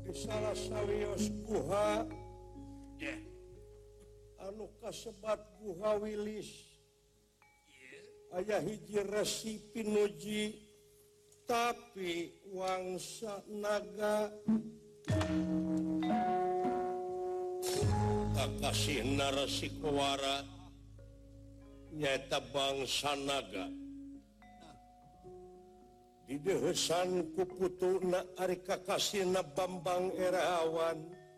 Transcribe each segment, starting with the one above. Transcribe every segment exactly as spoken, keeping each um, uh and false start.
di salah sawios guha anu kasebat guha Wilis aya hiji resi pinuji tapi wangsa naga kakasih narasi kewara nyata bangsa naga di dehesan kuputuna ari kakasihna Bambang Erawan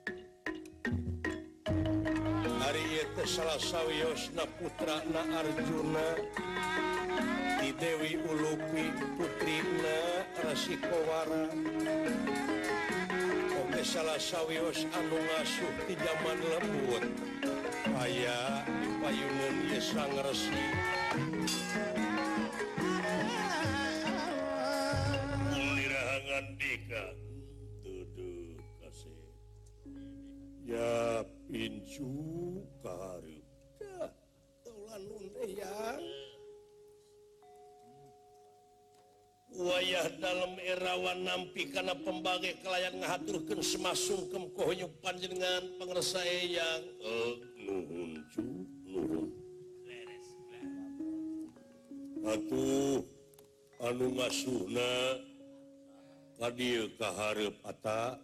ari ieu teh salah sawiosna putrana Arjuna di Dewi Ulupi putrina Rasi Kowara oge salah sawios anu ngasuh di zaman lembut aya di payungan ieu sang resi Dika duduk kasih ya pincu karep ya taulan teh ya wayah dalam Erawan nampi kana pembage kelayan ngahaturkeun semasungkem kohonyu panjenengan pangresa eyang eh nuhun cu nuhun atuh anu ngasuhna Kadieu kaharep ata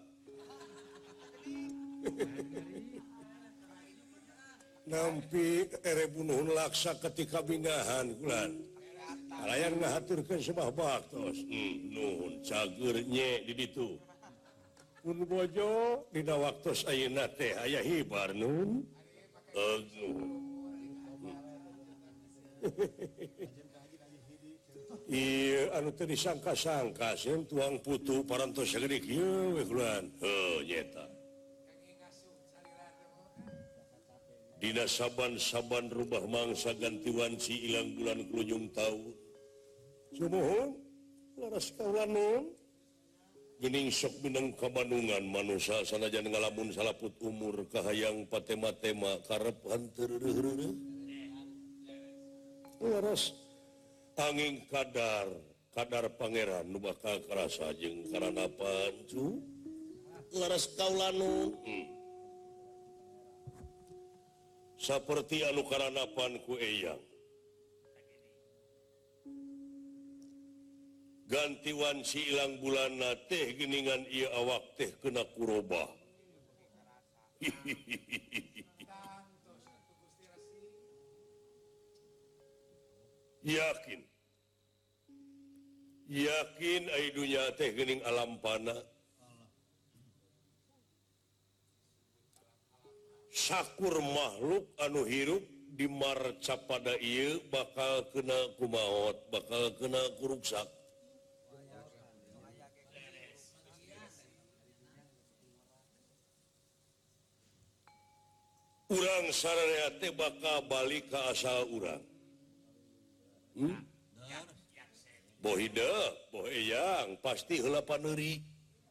nampi ere bunuhun laksa ketika binggahan kulan kalayan ngahaturkeun sabah baktos hmm, nuhun cager nye di ditu pun bojo dina waktos ayeuna teh aya hibar nun eh nuhun iya anu teh disangka-sangka sen tuang putu parantos sageudik ieu we kulan heuh nyeta dina saban-saban rubah mangsa ganti wanci ilang bulan kulunjung taun sumuhun laras kaulan nun geuning sok mineng kabandungan manusa sanajan ngalamun salaput umur kahayang patema-tema karep hanteu reureuh laras angin kadar kadar pangeran nu bakal karasa jeung karana pancu laras kaulanun hmm. saperti anu karanapan ku eyang ganti wanci ilang bulanna teh geuningan ieu awak teh kena kurobah yakin yakin ai dunya teh geuning alam pana sakur makhluk anu hirup di marca pada ieu bakal kena kumaot bakal kena kuruksak urang sararea teh bakal balik ka asal urang hmm? Bohida, boh eyang, pasti heula paneuri.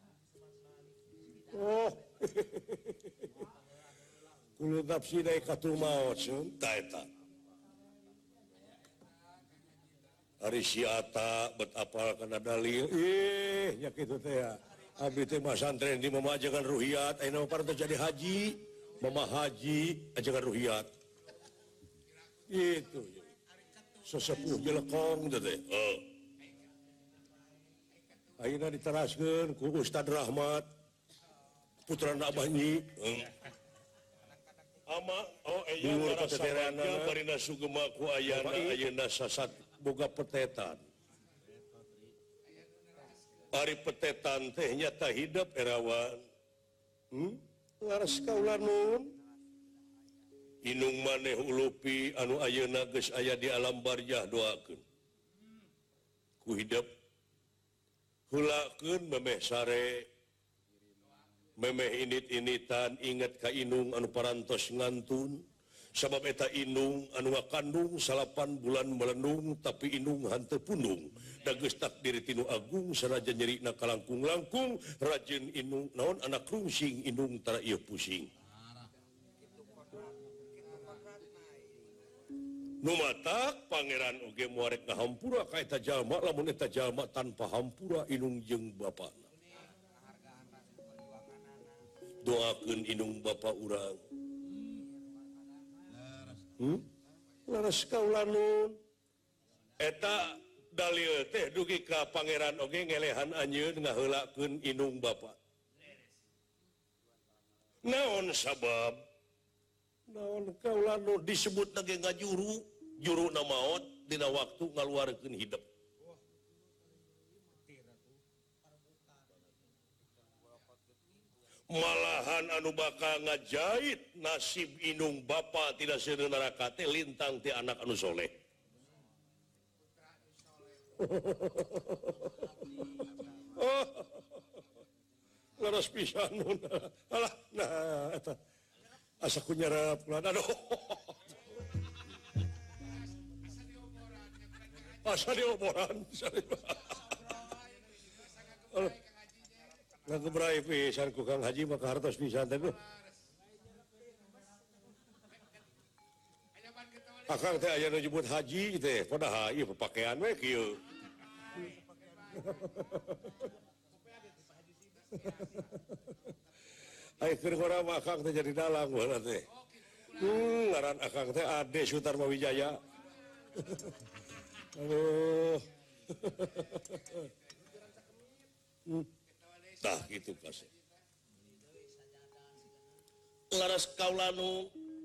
Oh, kulo nafsi dae katul maot sun, ta eta. Ari si Ata bet apal kana dalil, ih nya kitu teh ya. Abdi teh mah santren di mamajakan ruhiyat, ayeuna mah parentah jadi haji, mama haji ajakan ruhiyat. Itu. Sesepuh jelekong teh. Oh. Ayeuna diteraskeun ku Ustad Rahmat putrana Abah Nyi hmm. ama oh eyang ngarasakeun barina sugema ku ayana ayeuna sasat boga petetan ari petetan teh nyata hidup Erawan hmm? laras kaulan nun inung maneh ulupi anu ayeuna geus aya di alam barzah doakeun ku hidup hulakeun memeh sare memeh init-initan inget ka inung anu parantos ngantun sabab eta inung anu ngakandung salapan bulan melendung tapi inung hanteu pundung da geus takdir tinu agung sanajan nyerina kalangkung-langkung rajin inung naon anak rungsing inung tara ieu pusing numatak pangeran oge muarek ngahampura ka eta jalma lamun eta jalma tanpa hampura inung jeung bapana doakeun inung bapa urang. Hmm? Laras kaula nun. Eta dalil teh dugi ka pangeran oge ngelehan anjeun ngaheulakeun inung bapa. Naon sabab? Naon kaula nu disebut lagi ngajuru, juru na maot dina waktu ngaluarkeun hidup. Malahan anu bakal ngajait nasib inung bapa tidak seueur neraka teh lintang ti anak anu soleh. Oh, laras pisan nun. Alah, nah eta asa ku nyarap lan aduh. Asa dioboran. Ngagebrai pisan ku Kang Haji maka hartos pisan teh. Akang teh aya nu nyebut haji teh, padahal ieu papakean we kieu. Ai keur ngora mah akang teh jadi dalang baheula teh. Hmm, ngaran akang teh Ade Sutarma Wijaya. Aduh. Hmm. Tah gitu kasih. Laras kaula nu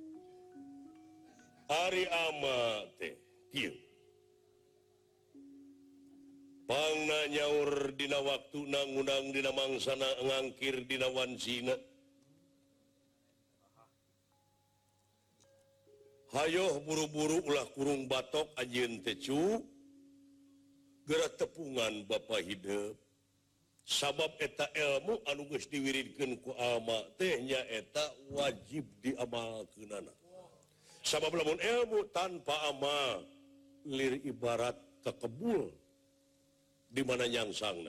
ari ama teh kieu. Pangna nyaur dina waktuna ngundang dina mangsana ngangkir dina wansina. Hayoh buru-buru ulah kurung batok anjeun teh cu. Geura tepungan bapa hidup. Sabab eta ilmu anu geus diwiridkeun ku ama teh nya eta wajib diamalkeunana. Sabab lamun ilmu tanpa amal lir ibarat kekebul di mana nyangsangna.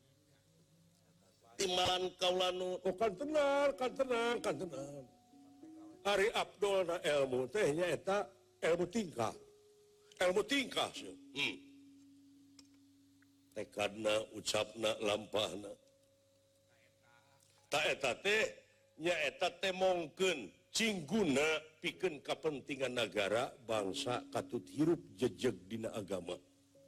Timbalan kaula nu oh kan tenang, kan tenang, kan tenang. Ari Abdul na ilmu teh nya eta ilmu tingkah. Ilmu tingkah sih. Hmm. Tekadna, ucapna, lampahna. Ta eta teh nya eta teh mongkeun cingguna pikeun kapentingan negara bangsa katut hirup jejeg dina agama.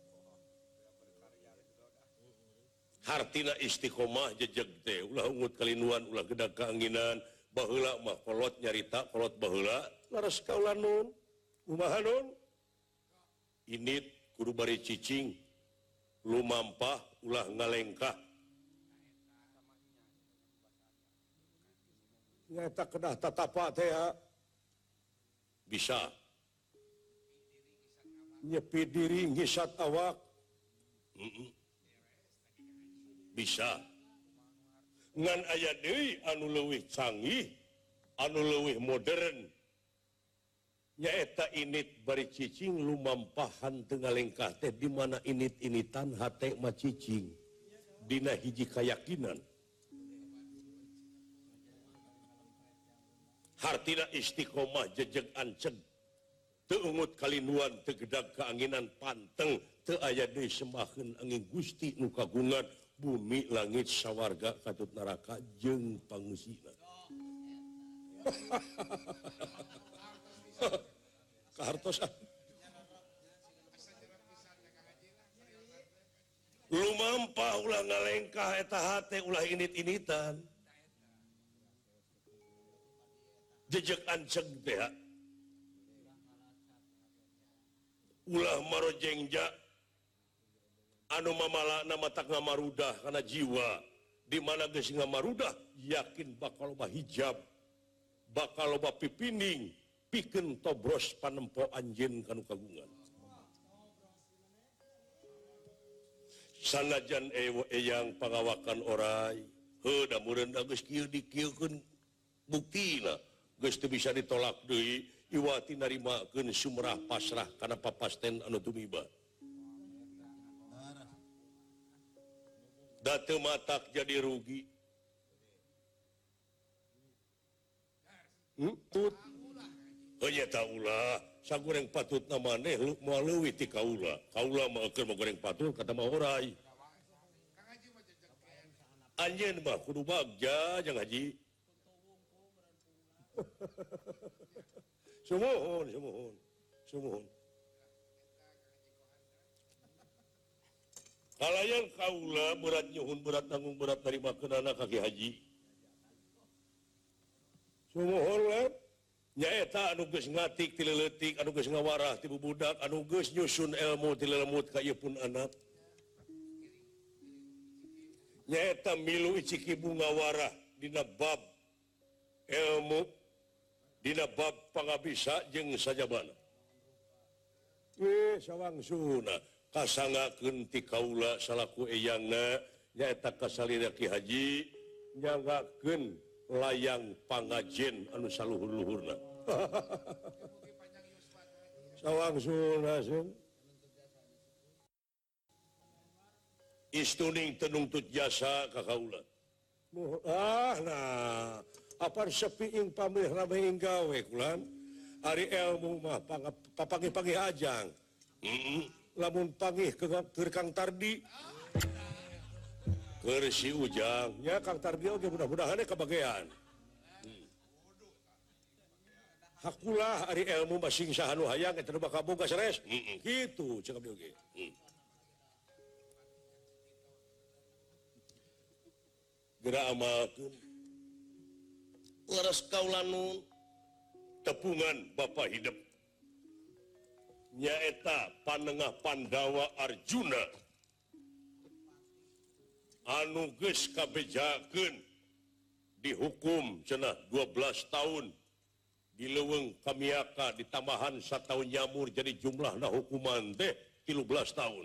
Hartina istiqomah jejeg teh ulah ungut kalinuan ulah gedag kaanginan baheula mah kolot nyarita kolot baheula laras kaula nun kumaha nun init kudu bari cicing lumampah ulah ngalengkah nyata kedah tatapa teh bisa nyepi diri ngisat awak mm -mm. Bisa ngan aya deui anu leuwih canggih anu leuwih modern nyaeta init bari cicing lumampahan teu ngalengkah teh di mana init-initan hate mah cicing dina hiji kayakinan hartina istiqomah jejeg anceg teu ungut kalinuan teu gedag kaanginan panteng teu aya deui sembaheun angin Gusti nu kagungan bumi langit sawarga katut neraka jeung pangusina. Kahartosan. Lumampah ulah ngalengkah eta hate ulah init-initan. Jejeg anceg teh. Ulah marojengja anu mamalana matak ngamarudah karena jiwa di mana geus ngamarudah yakin bakal loba hijab bakal loba pipinding pikeun tobros panempo anjeun kanu kagungan sanajan eyang pangawakan oray heuh da meureun da geus kieu dikieukeun buktina geus teu bisa ditolak deui iwati narimakeun sumrah pasrah kana papasten anu tumiba. Datu matak jadi rugi. Hmm? Tut. Oh nya ta ulah. Sagoreng patut na maneh moal leuwih ti kaula. Kaula mah keur goreng patut kata mah oray. Anjeun mah kudu bagja jeung haji. Sumuhun, sumuhun, sumuhun. Kalayan kaula berat nyuhun berat nanggung berat dari makenana kaki haji. Sumuhun lah. Nyaeta anu geus ngatik ti leuletik, anu geus ngawarah ti bubudak, anu geus nyusun ilmu ti lelemut ka ieu pun anak. Nyaeta milu iciki bunga warah dina bab ilmu, dina bab pangabisa jeung sajabana. Eh sawangsuna kasangakeun ti kaula salaku eyangna nyaeta kasalira Ki Haji nyanggakeun layang pangajen anu saluhur-luhurna. Sawangsuna sun. Istuning tenungtut jasa ka kaula. Ah nah, apar sepiing pamrih ramehing gawe kulan. Ari ilmu mah papangih-pangih ajang. Heeh. Lamun pangih keur Kang Tardi. Keur si Ujang, nya Kang Tardi oge mudah-mudahan kabagean. Hakulah ari ilmu masing saha nu hayang eta nu bakal boga sares. Heeh. Kitu ceuk abdi oge. Geura amalkeun. Leres kaula nun tepungan Bapa hidup. Nyaeta Panengah Pandawa Arjuna. Anu geus kabejakeun dihukum cenah dua belas tahun di leuweung Kamiaka ditambahan sataun nyamur jadi jumlahna hukuman teh tilu belas tahun.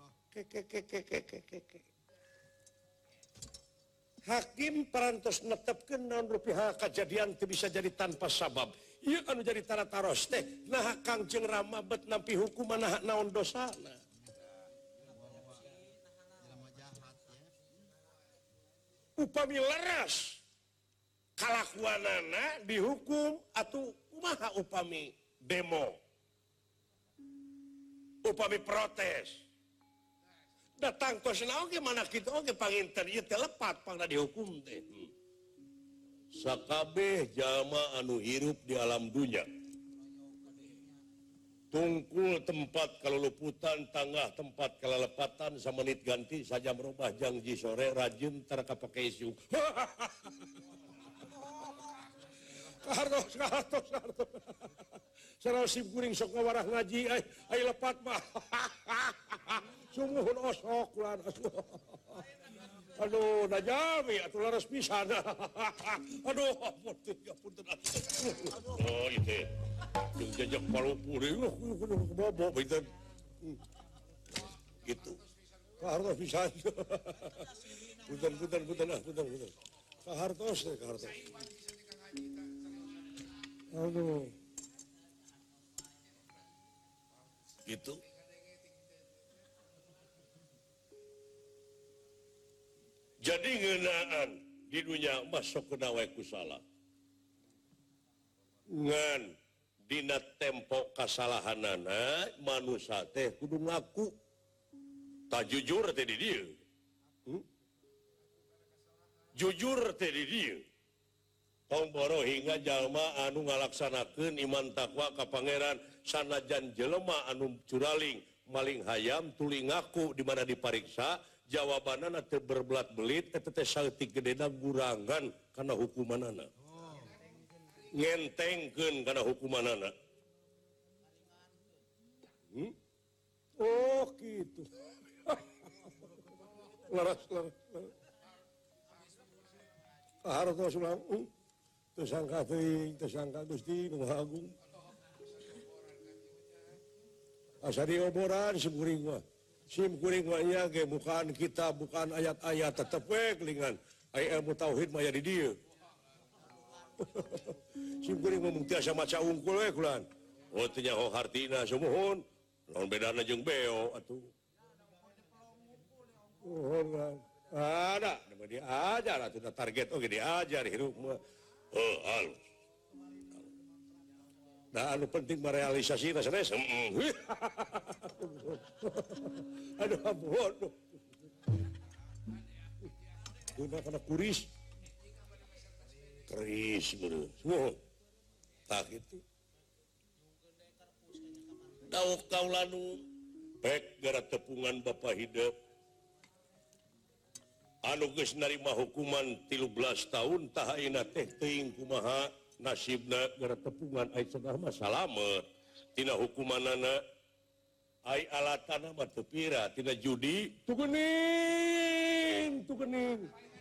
Hakim parantos netepkeun naon rupiah kajadian teu bisa jadi tanpa sabab. Ieu anu jadi tara-taros teh nah Kangjeng Rama bet nampi hukuman nah naon dosana. Upami leres kalakuanana dihukum atau kumaha upami demo, upami protes datang tosna oge mana kitu oge panginten ieu teh lepat pangna dihukum teh. Sakabeh jalma anu hirup di alam dunya tungkul tempat kaluluputan tangah tempat kalalepatan samenit ganti saja merubah janji sore rajin tara kapake isu. Kahartos kahartos kahartos. Sareng sim kuring sok ngawarah ngaji ai ai lepat mah. Sumuhun osok lan asuh. Aduh, da jami atuh laras pisan. Aduh, punten ya punten. Oh, itu. Yung jajak palupu rin, bobo, baitan. Gitu. Kahartos pisan. Punten, punten, punten, ah, punten, punten. Kahartos deh, kahartos. Aduh. Gitu. Jadi ngeunaan di dunia masuk ke nawai kusala. Ngan dina tempo kasalahanana manusia teh kudu ngaku. Tak jujur teh di dieu. Hmm? Jujur teh di dieu. Tong boro hingga jalma anu ngalaksanakeun iman takwa ka pangeran sanajan jelema anu curaling maling hayam tuli ngaku di mana dipariksa jawabanana teu berbelat belit eta teh saeutik gedena gurangan kana hukumanana. Ngentengkeun kana hukumanana. Hmm? Oh gitu. Laras laras. Kahartos ulang. Hmm? Tersangka teuing, tersangka Gusti Nu Maha Agung. Asa dioboran sim kuring mah. Sim kuring mah nya ge bukan kita, bukan ayat-ayat tetep we kelingan. Aya ilmu tauhid mah aya di dieu. Sim kuring mah mung tiasa maca ungkul we kulan. Oh teu nya ho hartina sumuhun. Naon bedana jeung beo atuh. Oh, ada, nama diajar atuh target oge diajar hirup mah. Oh, halus. Nah, anu penting merealisasi sanes. Aduh, bodoh. Guna kana kuris. Keris bener. Semua. tak itu dauk kaulanu pek gara tepungan Bapak hidup anu geus narima hukuman tilu belas tahun tah ayeuna teh teuing kumaha nasibna gara tepungan ai cenah mah salamet tina hukumanana ai alatana mah teu pira tina judi tu geuning tu geuning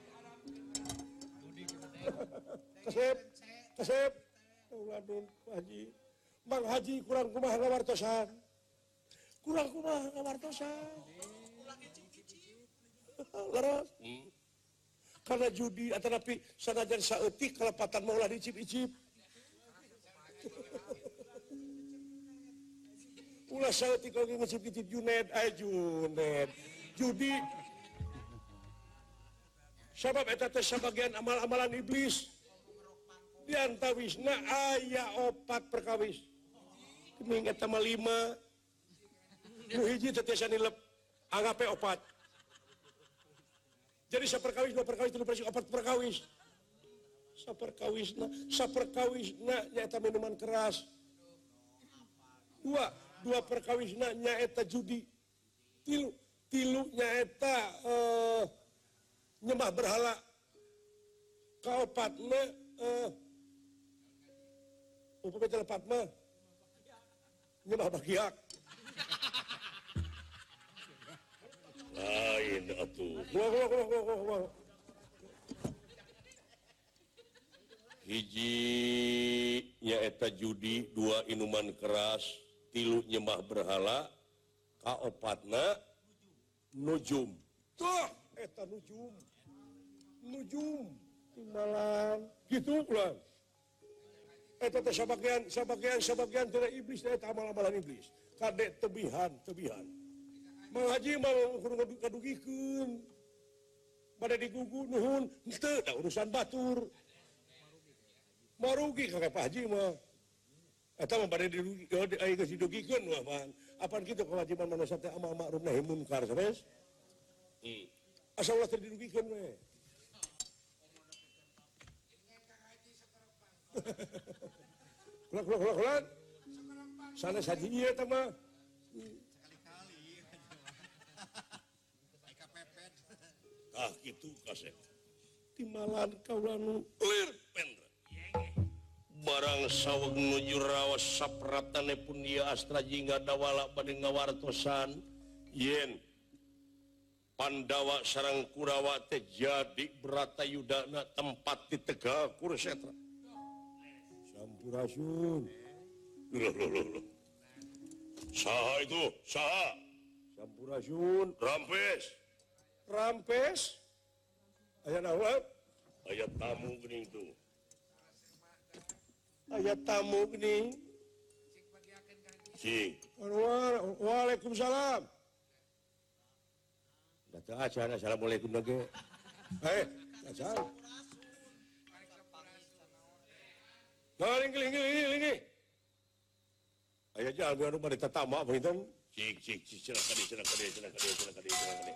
kasep kasep waduh Haji Mang Haji kurang kumaha ngawartosan kurang kumaha ngawartosan leres hmm. Karena judi atau tapi sanajan saeutik kalepatan maulah dicip-icip ulah saeutik lagi ngicip-icip Juned ay Juned judi sabab eta teh sabagian amal-amalan iblis diantawisna aya opat perkawis kening eta mah lima nu hiji teh tiasa nilep anggape opat jadi saperkawis dua perkawis tilu perkawis opat perkawis saperkawisna saperkawisna nyaeta minuman keras dua dua perkawisna nyaeta judi tilu tilu nyaeta uh, nyembah berhala kaopatna uh, upami telepat mah nyembah bagiak lain atuh wah wah wah wah wah hiji nyaeta judi dua inuman keras tilu nyembah berhala kaopatna nujum tuh eta nujum nujum timbalan gitu pulang eta teh sabagian sabagian sabagian tina iblis eta amal-amalan iblis kadek tebihan tebihan Mang Haji mah kudu kadugikeun bade digugu nuhun henteu da urusan batur marugi ka Pak Haji mah eta mah bade dirugi aya geus didugikeun mah man apan kitu kewajiban manusia teh amal ma'ruf nahi munkar sanes hmm. Asa ulah teu dirugikeun we kulak kulak kulak kulak sanes haji ieu eta mah ah gitu kasep timalan kaulanu lir pendra barang saweg nuju raos sapratane pun dia astra jingga dawala bade ngawartosan yen Pandawa sareng Kurawa teh jadi Bratayudana tempat di Tegal Kurusetra Sampurasun loh loh loh loh saha itu saha Sampurasun Rampes Rampes aya naon aya tamu geuning tuh aya tamu geuning cing Waalaikumsalam datang aja assalamualaikum lagi eh acan galing galing galing galing aya jalan anu bade tatama beunteun cik cik cik cenah kadi cenah kadi cenah kadi cenah kadi cenah kadi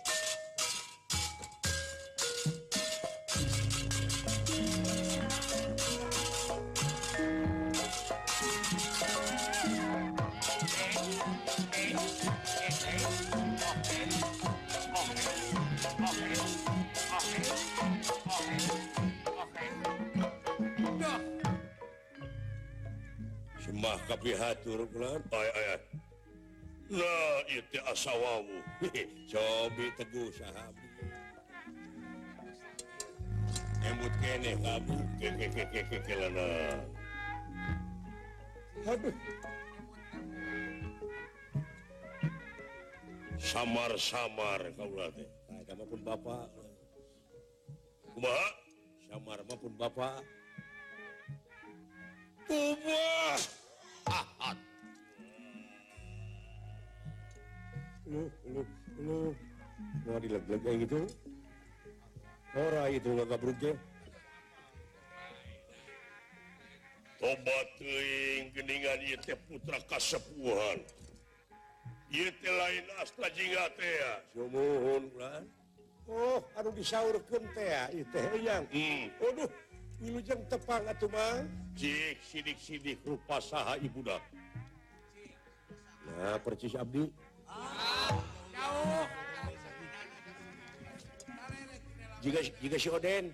Sembah kapihatur kulan ay ay ay nah ieu teh asawawu cobi teguh sahabi emut keneh kabu ke ke ke ke ke kelana aduh samar-samar kaula teh eta mah pun bapak kumaha samar mah pun bapak Ubah. Lu, lu, lu. Mau dileg-leg kayak gitu? Ora itu nggak gabruk ge. Tobat teuing geuningan ieu teh putra kasepuhan. Ieu teh lain astra jingga teh ya. Sumuhun ulah. Oh, anu disaurkeun teh ya ieu teh yang. Hmm. Aduh. wilujeng tepang atuh mah cik sidik-sidik rupa saha ibudak nah percis abdi jika jika si Oden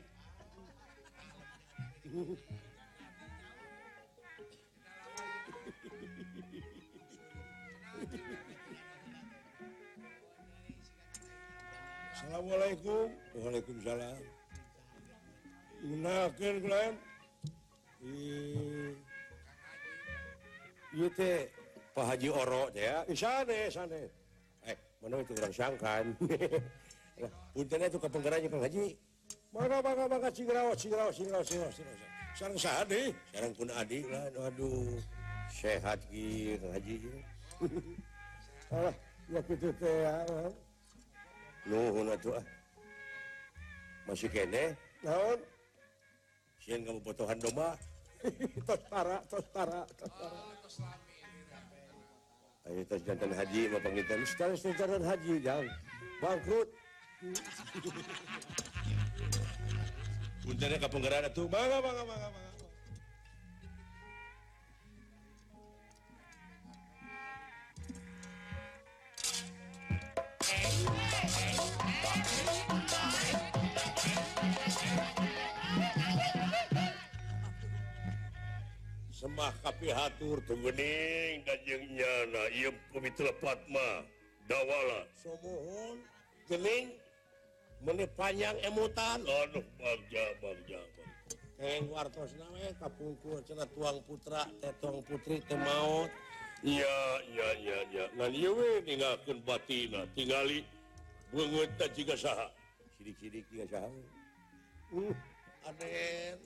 Assalamualaikum. Waalaikumsalam. Gunakeun kulaan. Ieu teh Pak Haji Oro teh ya. Isane, isane. Eh, mana itu orang sangkan. Puntennya itu kapenggerannya Kang Haji. Mangga, mangga, mangga cingraos, cingraos, cingraos, cingraos, cingraos. Sareng saha deui? Sareng pun adik lah. Aduh. Sehat ki Kang Haji. Alah, ya kitu teh ya. Nuhun atuh ah. Masih kene? Naon? Sieun kamu potohan domba. Tos tara, tos tara, tos tara. Ayo tos jantan haji mah pangitan. Sekarang jantan haji jang. Bangkrut. Puntennya kapenggeran atuh. Mangga, mangga, mangga, mangga. Semah kapihatur tu gening dan jeung nyana ieu pamitra Fatma dawala somohon gening meuni panjang emutan aduh bagja bagja keng wartosna we kapungkur cenah tuang putra teh tuang putri teh maot iya iya iya iya ngan ieu we ninggalkeun batina tingali beungeutna jiga saha sidik-sidik jiga saha uh aden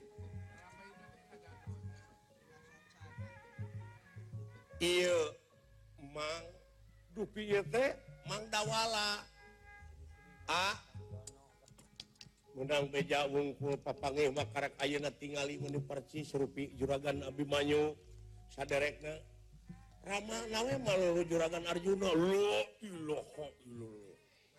iya mang dupi ieu teh mang dawala ah menang beja wungkul papangeh mah karek ayeuna tingali mun percis rupi juragan Abimanyu saderekna rama nawe malu juragan Arjuna la ilaha illallah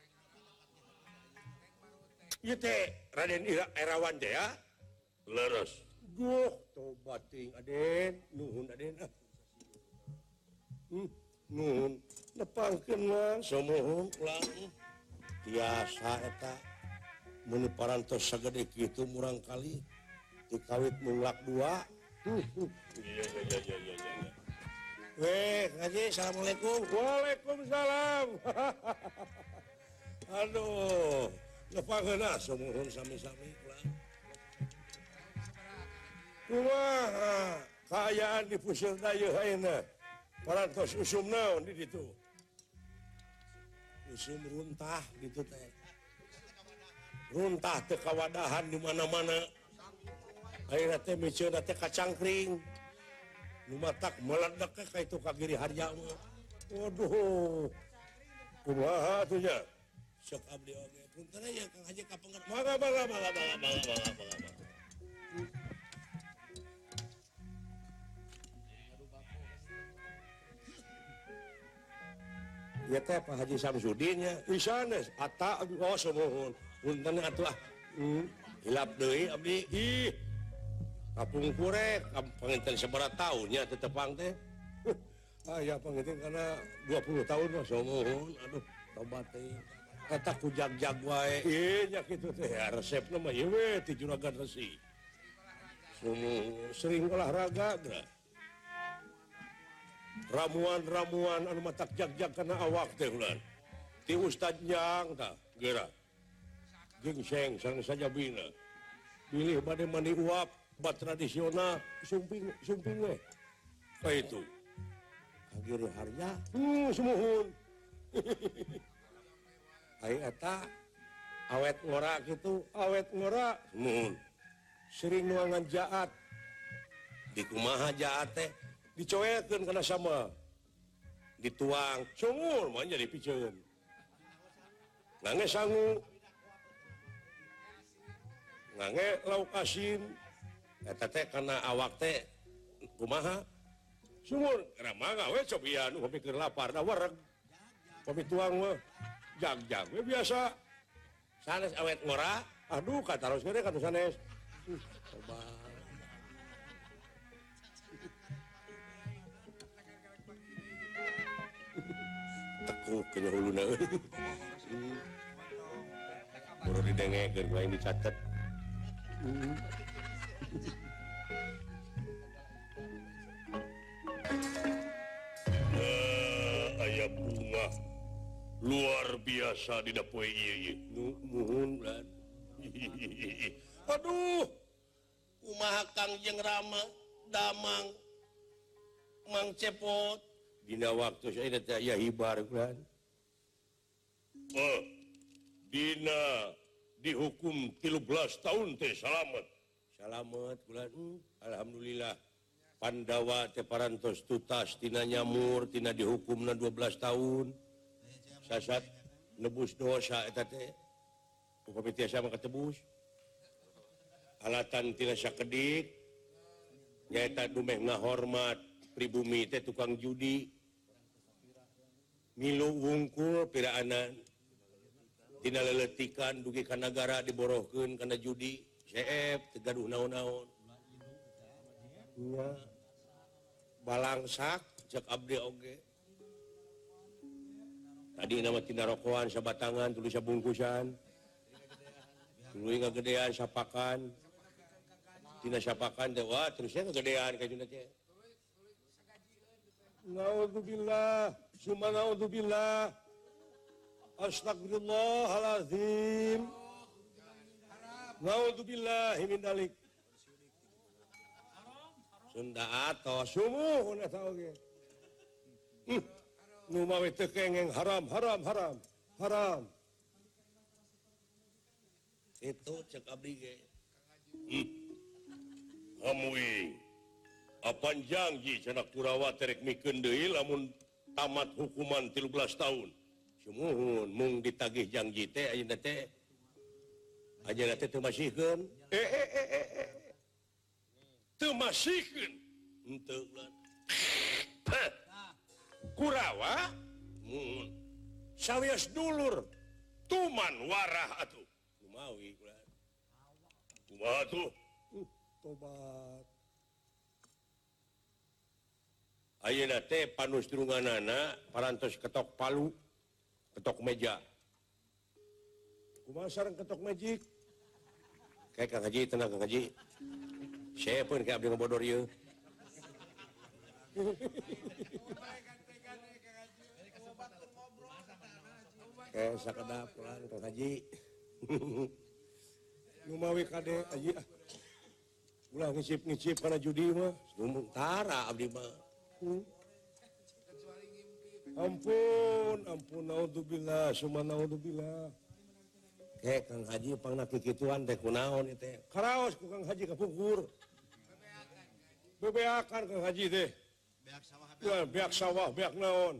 ieu teh Raden Irawan teh ya leres duh tobat ting aden nuhun aden ah Hmm, nun nepangkeun mah samohon ulang tiasa eta mun parantos sagede kitu murang kali dikawit mulak dua iya iya iya iya iya weh ngaji assalamualaikum waalaikumsalam aduh nepangkeun ah samohon sami-sami ulang kumaha kaayaan di puseur dayeuh ayeuna parantos usum naon di ditu usum runtah gitu teh runtah teh kawadahan di mana-mana ayeuna teh miceuna teh kacangkring nu matak meledak ka itu ka giri harja mah waduh kumaha atuh nya sok abdi oge punten aya Kang Haji kapengger mangga mangga mangga mangga mangga mangga ya teh Pak Haji Samsudin nya isanes ata oh samohon punten atuh ah hilap deui abdi ih kapungkur rek panginten sabaraha taun nya teh tepang teh aya panginten kana dua puluh tahun mah samohon aduh tobat teh eta ku jag-jag wae ieu nya kitu teh resepna mah ieu we ti Juragan Resi sering olahraga geura ramuan-ramuan anu matak jag-jag kana awak teh ulan ti Ustad Jang tah geura gingseng sareng sajabina pilih bade mandi uap bat tradisional sumping sumping we ka itu kagiri harja hmm semuhun ai eta awet ngora kitu awet ngora semuhun sering nuangan jaat di kumaha jaat teh dicoekeun kana sama dituang sumur mah jadi piceun ngangge sangu ngangge lauk asin eta teh kana awak teh kumaha sumur kana mangga we cobian kopi keur lapar da wereg kopi tuang mah jag-jag we biasa sanes awet ngora aduh kataros gede katu sanes coba kayaknya huluna. Baru didengekeun ku aing dicatet. Eh, aya bunga luar biasa dina poe ieu. Nuhun, Bran. Aduh, kumaha Kang jeung Rama, Damang, Mang Cepot. Dina waktu saya teh aya hibar, Bran. Oh, dina dihukum tilu belas tahun teh salamet. Salamet, Bran. Hmm, alhamdulillah. Pandawa teh parantos tutas tina nyamur, tina dihukumna dua belas tahun. Sasat nebus dosa eta teh. Upami tiasa mah katebus. Alatan tina sakedik nyaeta dumeh ngahormat pribumi teh tukang judi. Milu wungkul piraanan tina leletikan dugi ka nagara diborohkeun kana judi. Seep teu gaduh naon-naon. Nya balangsak cek abdi oge. Tadi nama tina rokokan sabatangan tuluy sabungkusan. Tuluy ngagedean sapakan. Tina sapakan teh wah terusnya ngagedean kajuna teh. Naudzubillah, summa naudzubillah. Astagfirullahalazim. Naudzubillahi min dalik. Sunda atos sumuh eta oge. Hmm. Nu mawe teu kengeng haram haram haram haram. Itu cek abdi ge. Hmm. Hamui. Apan janji cenah Kurawa terek mikeun deui lamun tamat hukuman tilu belas tahun. Sumuhun mung ditagih janji teh ayeuna teh. Ayeuna teh teu masihkeun. Eh eh eh eh eh. Teu masihkeun. Henteu lan. Kurawa mun sawias dulur tuman warah atuh. Kumawi ulah. Kumaha tuh? Uh, tobat. Ayeuna teh panusdrunganana parantos ketok palu, ketok meja. Kumaha sareng ketok magic? Kayak Kang Haji, tenang Kang Haji. Saya pun kayak abdi ngabodor ieu. Eh sakedap pelan Kang Haji. Nu mawi kade Haji ah. Ulah ngicip-ngicip kana judi mah, tara abdi mah. Hmm. Ampun, ampun naudzubillah, summa naudzubillah. Kayak Kang Haji pangna kikituan teh kunaon ieu teh. Karaos ku Kang Haji kapungkur. Bebeakan Kang Haji teh. Beak sawah, beak, beak sawah, beak naon?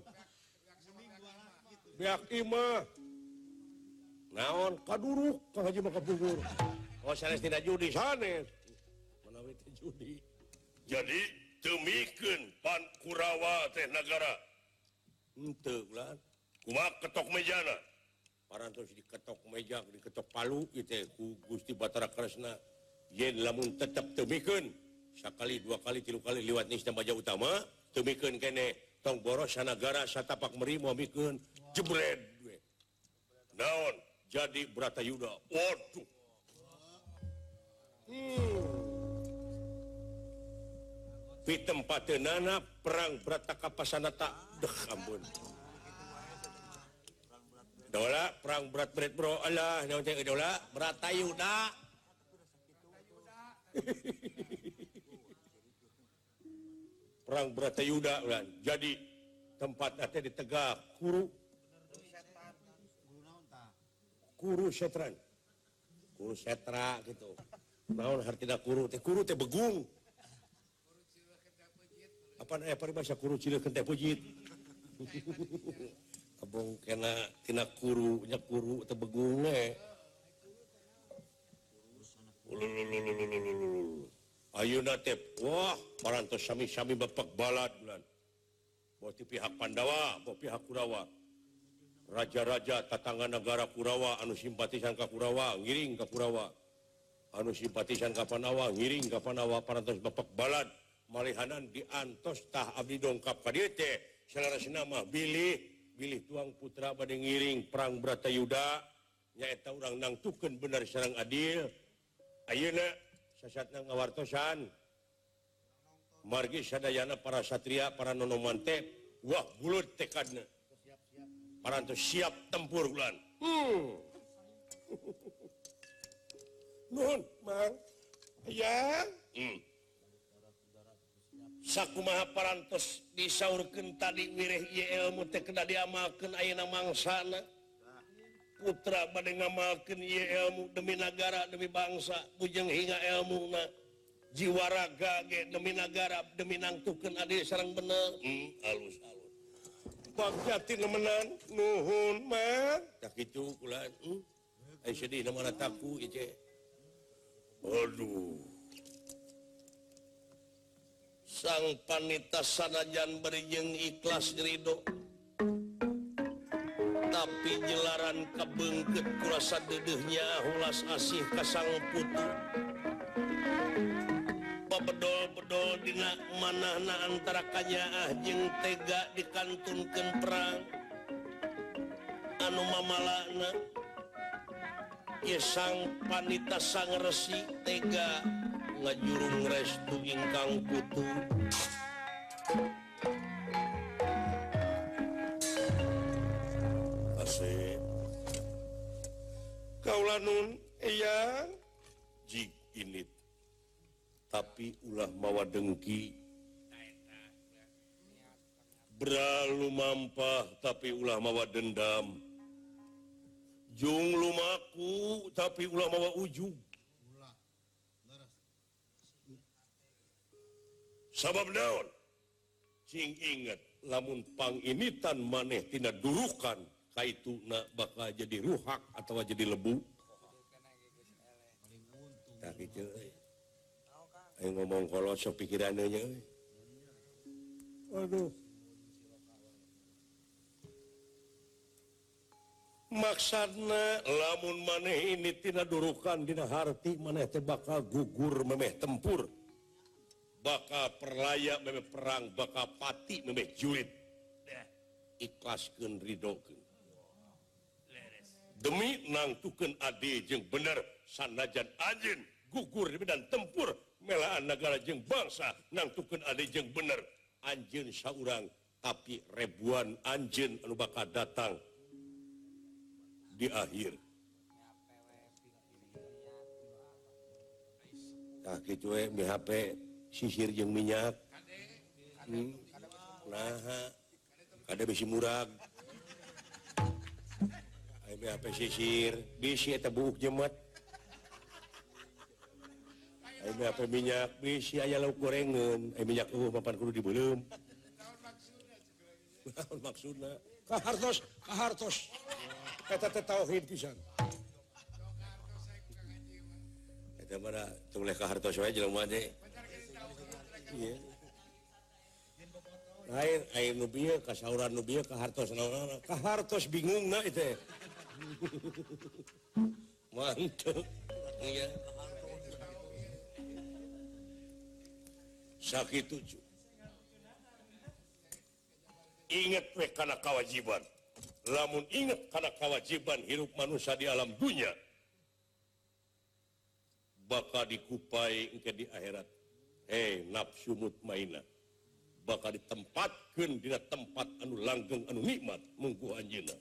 Beak imah. Naon kaduruk Kang Haji mah kapungkur. Oh sanes tina judi sanes. Manawi teh judi. Jadi temikeun pan Kurawa teh nagara. Henteu ulah. Kumaha ketok mejana? Parantos diketok meja, diketok palu ieu teh ku Gusti Batara Kresna. Yen lamun tetep temikeun sakali dua kali tilu kali liwat nisna baja utama temikeun kene tong boros sanagara satapak meri moal mikeun jebred we. Naon jadi Bratayuda. Waduh. Hmm. Pitempateunana perang Bratakapasanata deh ampun. Dola perang berat berat bro Allah naon teh dola Bratayuda. Perang Bratayuda ulah. Jadi tempat teh di Tegak Kuru Kuru Setran. Kuru Setra gitu. Naon hartina kuru teh kuru teh begung. Apa aya paribasa kuru cileukeun teh pujit. Abong kena tina kuru nya kuru teu begung we. Ayeuna teh wah parantos sami-sami bapek balad bulan. Bawa ti pihak Pandawa, bawa pihak Kurawa. Raja-raja tatangga negara Kurawa anu simpatisan ka Kurawa ngiring ka Kurawa. Anu simpatisan ka Panawa ngiring ka Panawa parantos bapek balad malihanan diantos tah abdi dongkap ka dieu teh salarasna mah bilih bilih tuang putra bade ngiring perang Bratayuda nyaeta urang nangtukeun bener sareng adil ayeuna sasatna ngawartosan margi sadayana para satria para nonoman teh wah bulut tekadna parantos siap tempur ulan hmm. Nuhun mang ya hmm. Sakumaha parantos disaurkeun tadi wireh ieu ilmu teh kena diamalkeun ayeuna mangsana putra bade ngamalkeun ieu ilmu demi negara demi bangsa bujeng hinga ilmuna jiwa raga ge demi negara demi nangtukeun adil sareng bener hmm, alus alus bagjati nemenan nuhun mah tak kitu kulan hmm. Ai sedih na mana taku ieu aduh sang panita sanajan berijeng ikhlas ridho tapi jelaran kabeungkeut kurasa deudeuhnya hulas asih ka sang putu babedol-bedol dina manahna antara kanyaah jeung tega dikantunkeun perang anu mamalana ieu sang panita sang resi tega ngajurung restu ingkang putu asih kaula nun eyang jig init tapi ulah mawa dengki bralu mampah tapi ulah mawa dendam jung lumaku tapi ulah mawa ujug sabab naon cing inget lamun panginitan maneh tina durukan kaituna bakal jadi ruhak atau jadi lebu tak kitu euy ayo ngomong kolot sok pikiranna nya euy aduh maksudna lamun maneh ini tina durukan dina harti maneh teh bakal gugur memeh tempur bakal perlaya memeh perang bakal pati memeh julit ikhlaskeun ridokeun demi nangtukeun adi jeung bener sanajan anjeun gugur di medan tempur melaan negara jeung bangsa nangtukeun adi jeung bener anjeun saurang tapi ribuan anjeun anu bakal datang di akhir tak kitu we mi H P sisir jeung minyak hmm. Nah kada bisi murag aya H P sisir bisi eta buuk jemet aya H P minyak bisi aya lauk gorengeun aya minyak eueuh papan kudu dibeuleum naon maksudna kahartos kahartos eta teh tauhid pisan eta mah tong leh kahartos wae jelema teh iya lain air nu bieu kasauran nu bieu kahartos naon kahartos bingungna itu mantep iya sakitu cu inget we kana kewajiban lamun inget kana kewajiban hirup manusia di alam dunia bakal dikupai engke di akhirat eh nafsu mutmainah bakal ditempatkeun dina tempat anu langgeng anu nikmat munggu anjeunna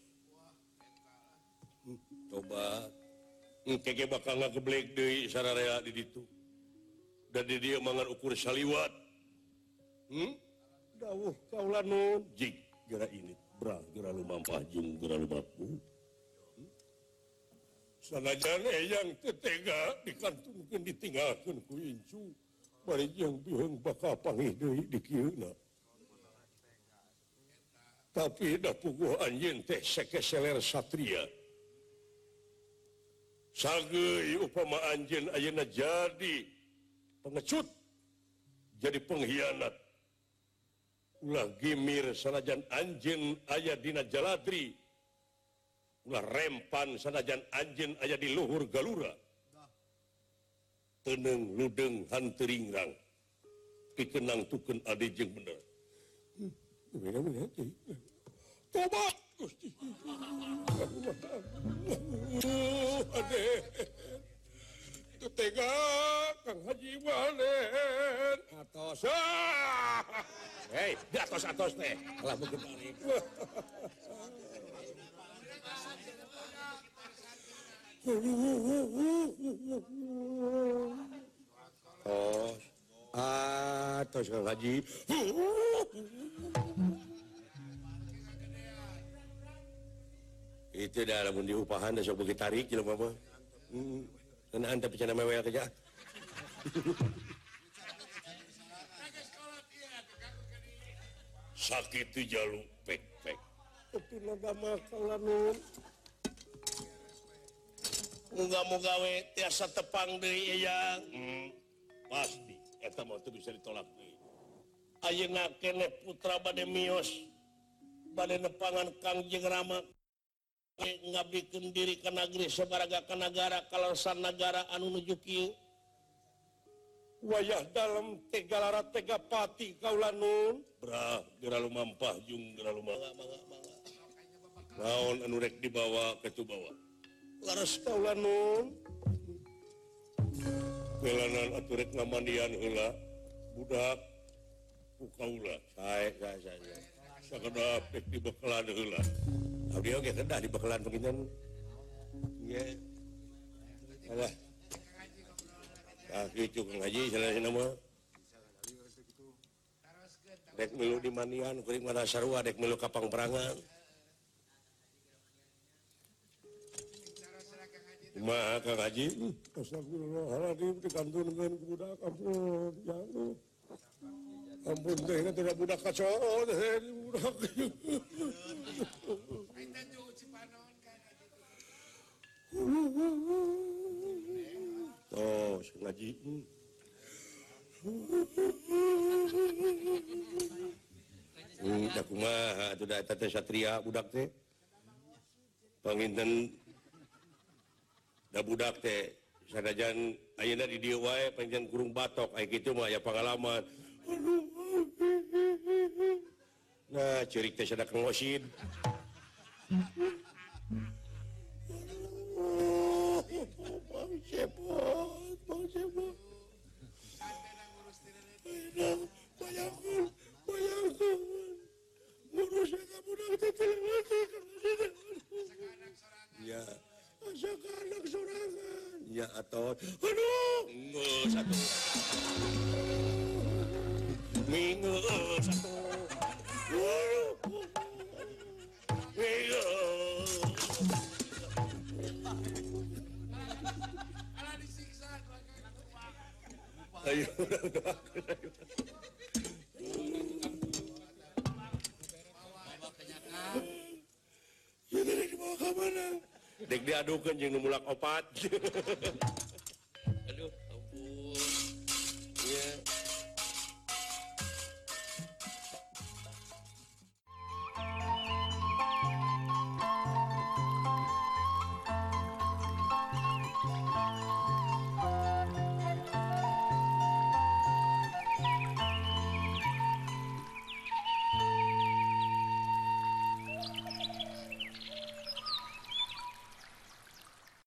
hmm, coba engke ge bakal ngageblek deui sararea di ditu dan di dieu mangan ukur saliwat hmm dawuh kaula nu jig geura ini bra geura lumampah jeung geura lumaku hmm? Sanajan eyang teu tega dikantunkeun ditinggalkeun ku incu bari jeung biheung bakal panggih deui di kieuna tapi da puguh anjeun teh sekeseler satria sageui upama anjeun ayeuna jadi pengecut jadi pengkhianat ulah gimir sanajan anjeun aya dina jaladri ulah rempan sanajan anjeun aya di luhur galura teneng ludeng hanteringrang pikenang tukeun adi jeung bener tobat Gusti. Aden. Itu tega Kang Haji Malen. Atos. Hei, di atos-atos teh. Alah mungkin tarik. Tos. Atos Kang Haji. Itu dah lamun diupahan dah sok begitu tarik jelema mah. Hmm. Kenaan tapi cenah mewel kerja. Sakit tu jalu pek-pek. Itu naga makalanun. Moga-moga we tiasa tepang deui ya. Hmm. Pasti eta mah teu bisa ditolak deui. Ayeuna keneh putra bade mios. Bade nepangan Kangjeng Rama. Ngabdikeun diri ka nagri sabaraga ka nagara kalausan nagara anu nuju kieu wayah dalam tega lara tega pati kaula nun brah geura lumampah jeung geura lumampah mangga mangga naon anu rek dibawa ka tu bawa laras kaula nun kelanan atuh rek ngamandian heula budak ku kaula sae sae sae sakedap rek dibekalan heula abdi oge kedah dibekalan penginten ge alah ah kitu Kang Haji salasina mah dek milu di mandian kuring mana sarua dek milu kapang perangan kumaha Kang Haji astagfirullahaladzim dikantunkeun budak ampun jangan ampun teh tidak budak kacau teh budak oh ngaji hmm da kumaha atuh da eta teh satria budak teh panginten da budak teh sanajan ayeuna di dieu wae panjenengan kurung batok aya kitu mah aya pangalaman nah ceurik teh sada Kang Osid Bang Cepot, Bang Cepot. Bayangkan, bayangkan. Ngurus saya budak tetel mati. Ya, asal anak sorangan. Ya, atau, aduh, nggak satu. Minggu satu. Minggu. Ayo, udah, udah, ayo. Ya, dari dibawa ke mana? Dek diadukan jeung nu mulak opat.